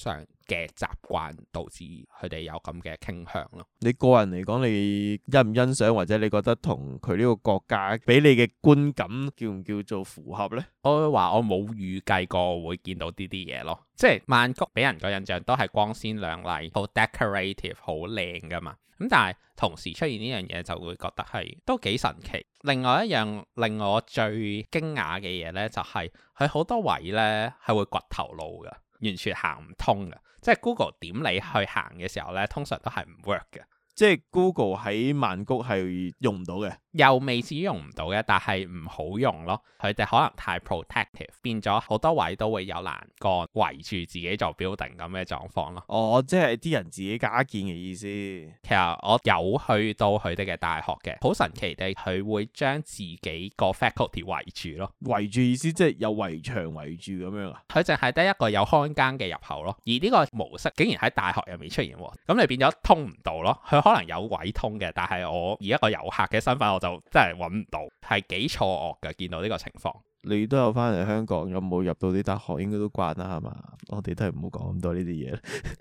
嘅習慣導致佢哋有咁嘅傾向咯。 你個人嚟講，你欣唔欣賞或者你覺得同佢呢個國家俾你嘅觀感叫唔叫做符合呢？ 我會話我冇預計過會見到呢啲嘢咯，即係曼谷俾人個印象都係光鮮亮麗、好 decorative、好靚噶嘛。咁但係同時出現呢樣嘢就會覺得係都幾神奇。另外一樣令我最驚訝嘅嘢呢，就係佢好多位呢係會掘頭路嘅，完全行唔通嘅。即係 Google 點你去行嘅時候呢，通常都係唔 work 嘅。 即係 Google 喺曼谷係用唔到嘅， 又未至於用唔到嘅，但係唔好用咯。佢哋可能太 protective，變咗好多位都會有欄杆圍住自己做 building 咁嘅狀況咯。 哦，即係啲人自己加建嘅意思。 其實我有去到佢哋嘅大學嘅，好神奇地佢會將自己個 faculty 圍住咯。 圍住意思即係有圍牆圍住咁樣啊？ 佢淨係得一個有看更嘅入口咯，而呢個模式竟然喺大學入面出現喎，咁你變咗通唔到咯。佢可能有位通嘅，但係我以一個遊客嘅身份，我就真係揾唔到，係幾錯愕嘅。見到呢個情況， 你都有翻嚟香港，有冇入到啲大學？應該都慣啦，係嘛？我哋都係唔好講咁多呢啲嘢。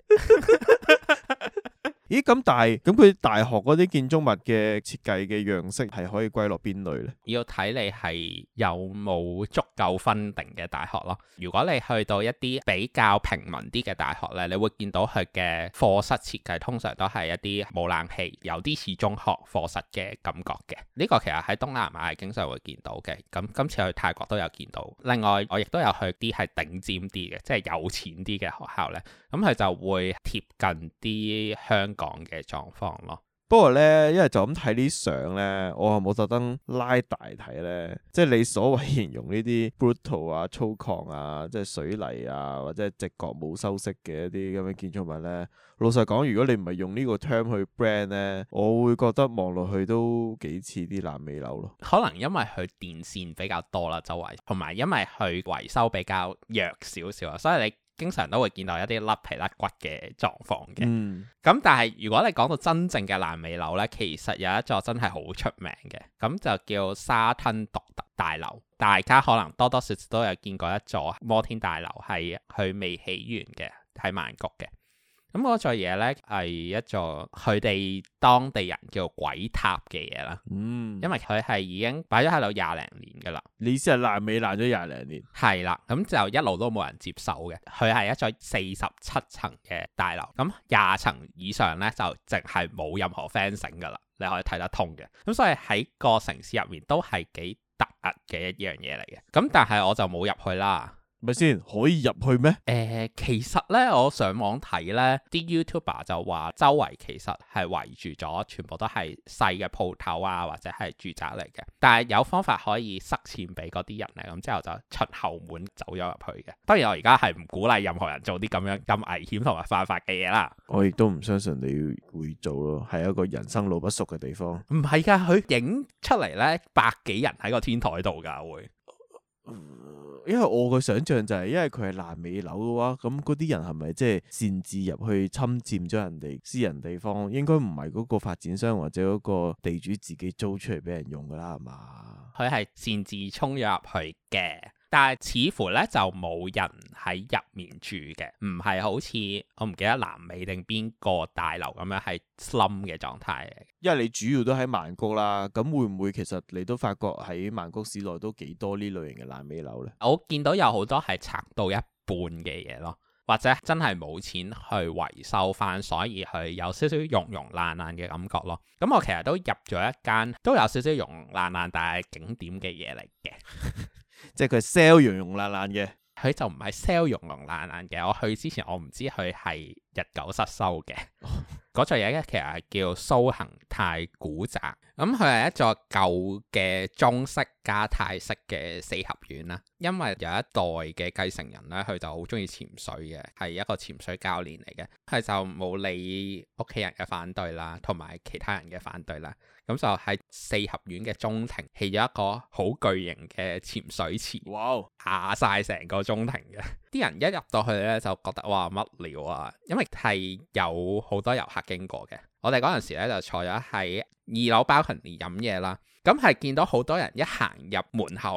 咦，咁但係咁佢大學嗰啲建築物嘅設計嘅樣式係可以歸落邊類呢？ 要睇你係有冇足夠分定嘅大學咯。如果你去到一啲比較平民啲嘅大學呢，你會見到佢嘅課室設計通常都係一啲冇冷氣，有啲似中學課室嘅感覺嘅。呢個其實喺東南亞係經常會見到嘅。咁今次去泰國都有見到。另外我亦都有去啲係頂尖啲嘅，即係有錢啲嘅學校呢。咁佢就會貼近啲香港嘅狀況咯。 不過呢，因為就咁睇啲相呢，我係冇特登拉大睇呢。即係你所謂形容呢啲 brutal 啊、粗獷啊、即係水泥啊，或者係直角冇修飾嘅一啲咁嘅建築物呢。老實講，如果你唔係用呢個 term 去 brand 呢，我會覺得望落去都幾似啲爛尾樓咯。 可能因為佢電線比較多啦，周圍，同埋因為佢維修比較弱少少啊，所以你經常都會見到一啲甩皮甩骨嘅狀況嘅。咁但係如果你講到真正嘅爛尾樓呢，其實有一座真係好出名嘅，咁就叫沙吞獨特大樓。大家可能多多少少都有見過一座摩天大樓，係佢未起完嘅，喺曼谷嘅。咁嗰座嘢呢，係一座佢哋當地人叫鬼塔嘅嘢啦。因為佢係已經擺咗喺度20零年噶啦。 你意思係爛尾爛咗20零年？ 係啦，咁就一路都冇人接手嘅。佢係一座47層嘅大樓，咁20層以上呢，就淨係冇任何 fencing 噶啦，你可以睇得通嘅。咁所以喺個城市入面都係幾突兀嘅一樣嘢嚟嘅。咁但係我就冇入去啦。 咪先可以入去咩？ 其實呢，我上網睇呢啲 YouTuber 就話周圍其實係圍住咗，全部都係細嘅鋪頭啊，或者係住宅嚟嘅。但係有方法可以塞錢俾嗰啲人呢，咁之後就出後門走咗入去嘅。當然我而家係唔鼓勵任何人做啲咁危險同埋犯法嘅嘢啦。 我亦都唔相信你會做咯，係一個人生路不熟嘅地方。 唔係㗎，佢影出嚟呢，100幾人喺個天台度㗎會。 因為我嘅想象就係，因為佢係爛尾樓嘅話，咁嗰啲人係咪即係擅自入去侵佔咗人哋私人地方？應該唔係嗰個發展商或者嗰個地主自己租出嚟俾人用噶啦，係嘛？佢係擅自衝咗入去嘅。但係似乎咧就冇人喺入面住嘅，唔係好似我唔記得南美定邊個大樓咁樣係 slum 嘅狀態嘅。 因為你主要都喺曼谷啦，咁會唔會其實你都發覺喺曼谷市內都幾多呢類型嘅爛尾樓呢？ 我見到有好多係拆到一半嘅嘢咯，或者真係冇錢去維修翻，所以佢有少少溶溶爛爛嘅感覺咯。咁我其實都入咗一間都有少少溶溶爛爛但係景點嘅嘢嚟嘅。 即係佢 sell 溶溶爛爛嘅， 佢就唔係 sell 溶溶爛爛嘅。我去之前我唔知佢係日久失修嘅。嗰座嘢咧其實係叫蘇恒泰古宅，咁佢係一座舊嘅中式加泰式嘅四合院啦。因為有一代嘅繼承人咧，佢就好中意潛水嘅，係一個潛水教練嚟嘅，佢就冇理屋企人嘅反對啦，同埋其他人嘅反對啦。咁就喺四合院嘅中庭起咗一個好巨型嘅潛水池，哇，壓晒成個中庭嘅。啲人一入到去咧就覺得哇乜料啊，因為係有好多遊客經過嘅。我哋嗰陣時咧就坐咗喺2樓balcony飲嘢啦，咁係見到好多人一行入門口咧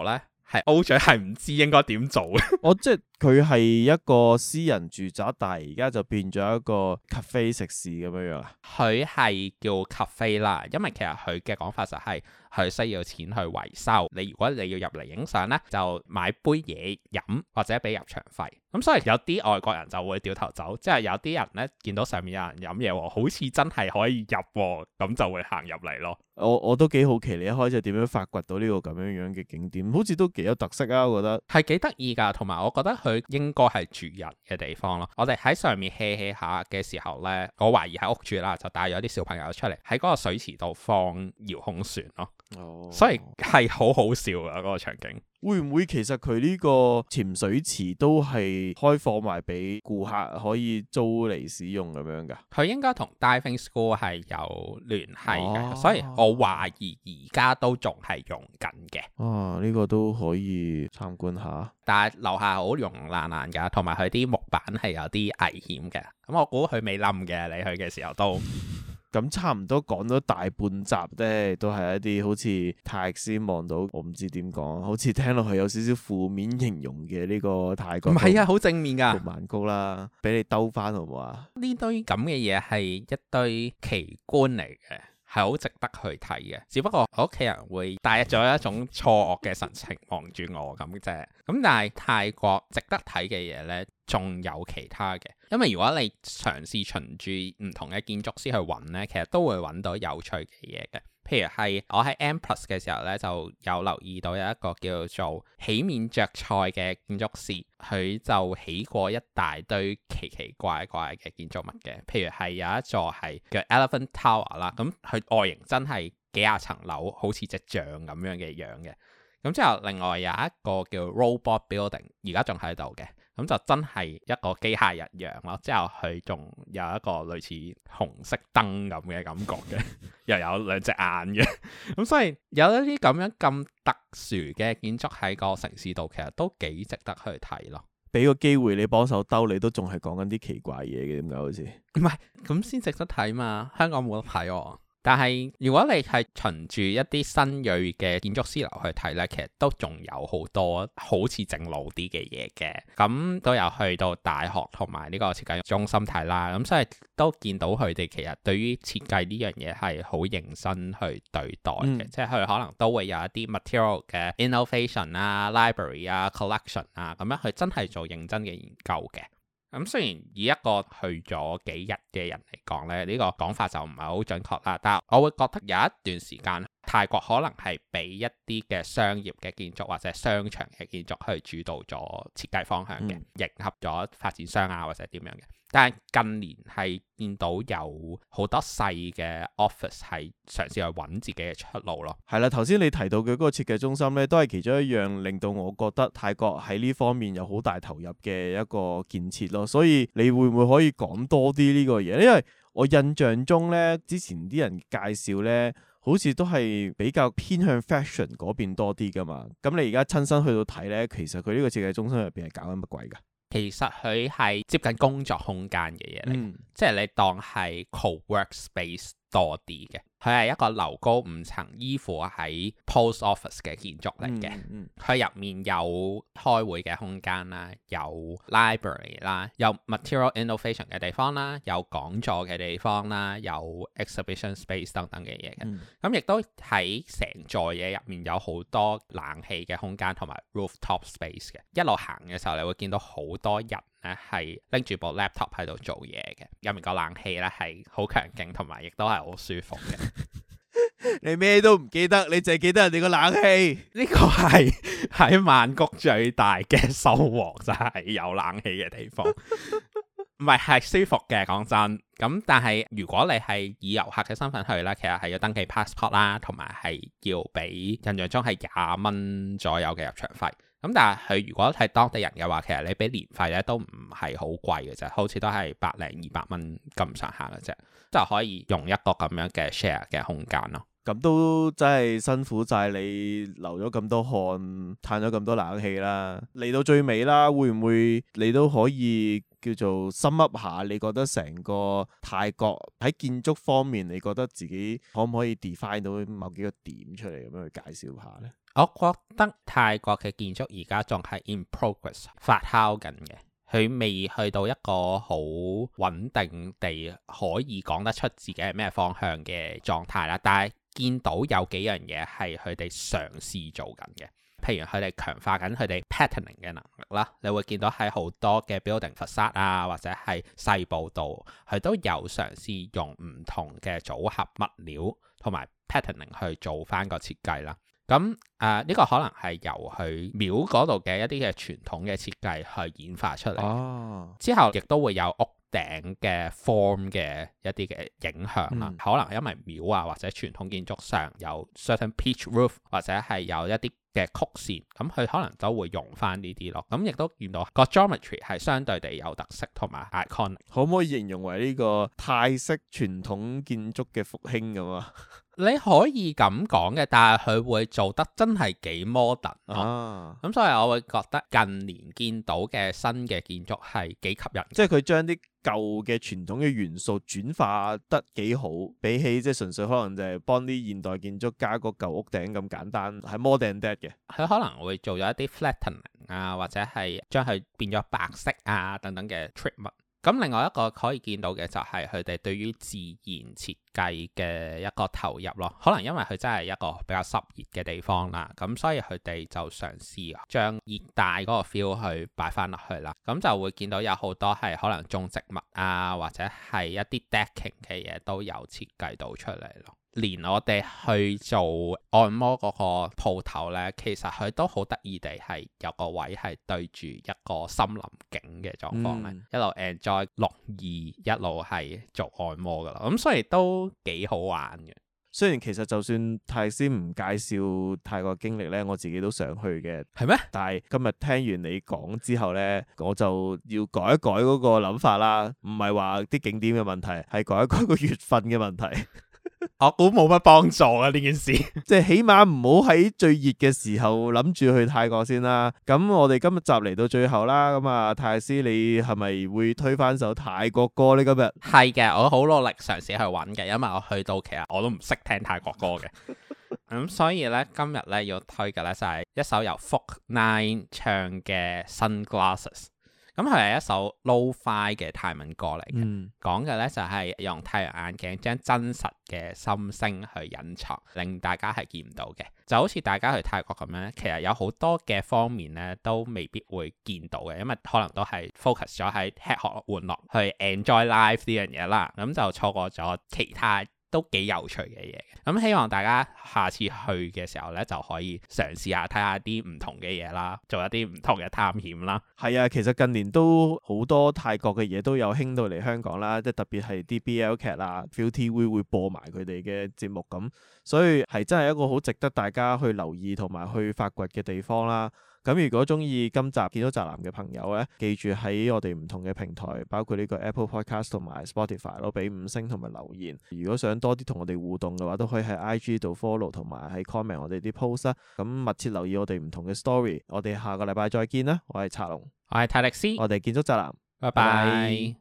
係 O 嘴係唔知應該點做嘅。 我即係佢係一個私人住宅，但係而家就變咗一個 cafe 食肆咁樣啊。 佢係叫 cafe 啦，因為其實佢嘅講法就係佢需要錢去維修。你如果你要入嚟影相呢，就買杯嘢飲或者俾入場費。咁所以有啲外國人就會掉頭走，即係有啲人呢見到上面有人飲嘢喎，好似真係可以入喎，咁就會行入嚟咯。 我都幾好奇你一開始點樣發掘到呢個咁樣嘅景點，好似都幾有特色啊！我覺得係幾得意㗎，同埋我覺得佢應該係住人嘅地方咯。我哋喺上面 hea 下嘅時候呢，我懷疑喺屋住啦，就帶咗啲小朋友出嚟喺嗰個水池度放遙控船咯。 哦， 所以係好好笑啊！嗰個場景會唔會其實佢呢個潛水池都係開放埋俾顧客可以租嚟使用咁樣㗎？ 佢應該同 Diving School 係有聯繫嘅， 哦， 所以我懷疑而家都仲係用緊嘅。 啊，呢個都可以參觀下。 但係樓下好溶爛爛㗎，同埋佢啲木板係有啲危險嘅。咁我估佢未冧嘅，你去嘅時候都。 咁差唔多講咗大半集咧，都係一啲好似泰先望到，我唔知點講，好似聽落去有少少負面形容嘅呢個泰國。 唔係啊，好正面㗎。 曼谷啦，俾你兜翻好唔好啊？ 呢堆咁嘅嘢係一堆奇觀嚟嘅，係好值得去睇嘅。只不過我屋企人會帶咗一種錯愕嘅神情望住我咁啫。咁但係泰國值得睇嘅嘢呢，仲有其他嘅。因為如果你嘗試循住唔同嘅建築師去揾呢，其實都會揾到有趣嘅嘢嘅。譬如係我喺 M+ 嘅時候呢，就有留意到有一個叫做起面著菜嘅建築師，佢就起過一大堆奇奇怪怪嘅建築物嘅。譬如係有一座係叫 Elephant Tower 啦，咁佢外形真係幾廿層樓，好似隻象咁樣嘅樣嘅。咁之後另外有一個叫 Robot Building， 而家仲喺度嘅。咁就真係一個機械人樣咯，之後佢仲有一個類似紅色燈咁嘅感覺嘅，又有兩隻眼嘅，咁所以有一啲咁樣咁特殊嘅建築喺個城市度，其實都幾值得去睇咯。 俾個機會你幫手兜，你都仲係講緊啲奇怪嘢嘅，點解好似？ 唔係，咁先值得睇嘛，香港冇得睇喎。但係如果你係循住一啲新銳嘅建築師樓去睇呢，其實都仲有好多好似正路啲嘅嘢嘅。咁都有去到大學同埋呢個設計中心睇啦，咁所以都見到佢哋其實對於設計呢樣嘢係好認真去對待嘅，即係佢可能都會有一啲 material 嘅 innovation 啊、library 啊、collection 啊，咁樣佢真係做認真嘅研究嘅。咁雖然以一個去咗幾日嘅人嚟講咧，呢個講法就唔係好準確啦，但係我會覺得有一段時間泰國可能係俾一啲嘅商業嘅建築或者商場嘅建築去主導咗設計方向嘅，迎合咗發展商啊或者點樣嘅。但係近年係見到有好多細嘅 office 係嘗試去揾自己嘅出路咯。 係啦，頭先你提到嘅嗰個設計中心咧，都係其中一樣令到我覺得泰國喺呢方面有好大投入嘅一個建設咯。所以你會唔會可以講多啲呢個嘢？因為我印象中咧，之前啲人介紹咧，好似都係比較偏向 fashion 嗰邊多啲噶嘛。咁你而家親身去到睇咧，其實佢呢個設計中心入邊係搞緊乜鬼噶？ 其實佢係接近工作空間嘅嘢嚟，即係你當係 co-work space 多啲嘅。佢係一個樓高5層，依附喺 post office 嘅建築嚟嘅。佢入面有開會嘅空間啦，有 library 啦，有 material innovation 嘅地方啦，有講座嘅地方啦，有 exhibition space 等等嘅嘢嘅。咁亦都喺成座嘢入面有好多冷氣嘅空間同埋 rooftop space 嘅。一路行嘅時候，你會見到好多人咧係拎住部 laptop 喺度做嘢嘅。入面個冷氣咧係好強勁，同埋亦都係好舒服嘅。 你咩都唔記得，你淨係記得人哋個冷氣。 呢個係喺曼谷最大嘅收穫，就係有冷氣嘅地方。唔係舒服嘅，講真。咁但係如果你係以遊客嘅身份去咧，其實係要登記 passport 啦，同埋係要俾印象中係20蚊左右嘅入場費。咁但係佢如果係當地人嘅話，其實你俾年費咧都唔係好貴嘅啫，好似都係100-200蚊咁上下嘅啫，就可以用一個咁樣嘅 share 嘅空間咯。 咁都真係辛苦晒你流咗咁多汗，嘆咗咁多冷氣啦。嚟到最尾啦，會唔會你都可以叫做深噏下？你覺得成個泰國喺建築方面，你覺得自己可唔可以 define 到某幾個點出嚟咁樣去介紹下呢？ 我覺得泰國嘅建築而家仲係 in progress 發酵緊嘅，佢未去到一個好穩定地可以講得出自己係咩方向嘅狀態啦。但係見到有幾樣嘢係佢哋嘗試做緊嘅，譬如佢哋強化緊佢哋 patterning 嘅能力啦。你會見到喺好多嘅 building facade 啊，或者係細部度，佢都有嘗試用唔同嘅組合物料同埋 patterning 去做翻個設計啦。咁呢個可能係由佢廟嗰度嘅一啲嘅傳統嘅設計去演化出嚟，之後亦都會有屋頂嘅 form 嘅一啲嘅影響啦。可能因為廟啊或者傳統建築上有 certain pitch roof 或者係有一啲嘅曲線，咁佢可能都會用翻呢啲咯。咁亦都見到個 geometry 係相對地有特色同埋 iconic。 可唔可以形容為呢個泰式傳統建築嘅復興咁啊？ 你可以咁講嘅，但係佢會做得真係幾 modern 咯。咁所以我會覺得近年見到嘅新嘅建築係幾吸引， 即係佢將啲舊嘅傳統嘅元素轉化得幾好，比起即係純粹可能就係幫啲現代建築加個舊屋頂咁簡單，係 more than that 嘅。 佢可能會做咗一啲 flattening 啊，或者係將佢變咗白色啊等等嘅 treatment。咁另外一個可以見到嘅就係佢哋對於自然設計嘅一個投入咯。可能因為佢真係一個比較濕熱嘅地方啦，咁所以佢哋就嘗試將熱帶嗰個 feel 去擺翻落去啦。咁就會見到有好多係可能種植物啊，或者係一啲 decking 嘅嘢都有設計到出嚟咯。連我哋去做按摩嗰個鋪頭呢，其實佢都好得意地係有個位係對住一個森林景嘅狀況呢，一路 enjoy 綠意，一路係做按摩噶啦，咁所以都幾好玩嘅。 雖然其實就算泰師唔介紹泰國經歷呢，我自己都想去嘅。 係咩？ 但係今日聽完你講之後呢，我就要改一改嗰個諗法啦。唔係話啲景點嘅問題，係改一改個月份嘅問題。 我估冇乜幫助啊呢件事， 即係起碼唔好喺最熱嘅時候諗住去泰國先啦。咁我哋今日集嚟到最後啦，咁啊泰師你係咪會推翻首泰國歌呢？今日係嘅，我好努力嘗試去揾嘅，因為我去到其實我都唔識聽泰國歌嘅。咁所以呢，今日呢要推嘅呢就係一首由 Folk9 唱嘅 Sunglasses。咁佢係一首 Lo-Fi 嘅泰文歌嚟嘅，講嘅呢就係用太陽眼鏡將真實嘅心聲去隱藏，令大家係見唔到嘅。就好似大家去泰國咁樣，其實有好多嘅方面呢都未必會見到嘅，因為可能都係 focus 咗喺吃喝玩樂去 enjoy life 呢樣嘢啦，咁就錯過咗其他都幾有趣嘅嘢。咁希望大家下次去嘅時候呢，就可以嘗試下睇下啲唔同嘅嘢啦，做一啲唔同嘅探險啦。 係啊，其實近年都好多泰國嘅嘢都有興到嚟香港啦，即係特別係啲 BL 劇啊 ViuTV 會播埋佢哋嘅節目咁，所以係真係一個好值得大家去留意同埋去發掘嘅地方啦。咁如果中意今集建築宅男嘅朋友咧，記住喺我哋唔同嘅平台，包括呢個 Apple Podcast 同埋 Spotify 咯，俾5星同埋留言。如果想多啲同我哋互動嘅話，都可以喺 IG 度 follow 同埋喺 comment 我哋啲 post 啦。咁密切留意我哋唔同嘅 story。我哋下個禮拜再見啦。我係查龍， 我係泰力斯， 我哋建築宅男， 拜拜。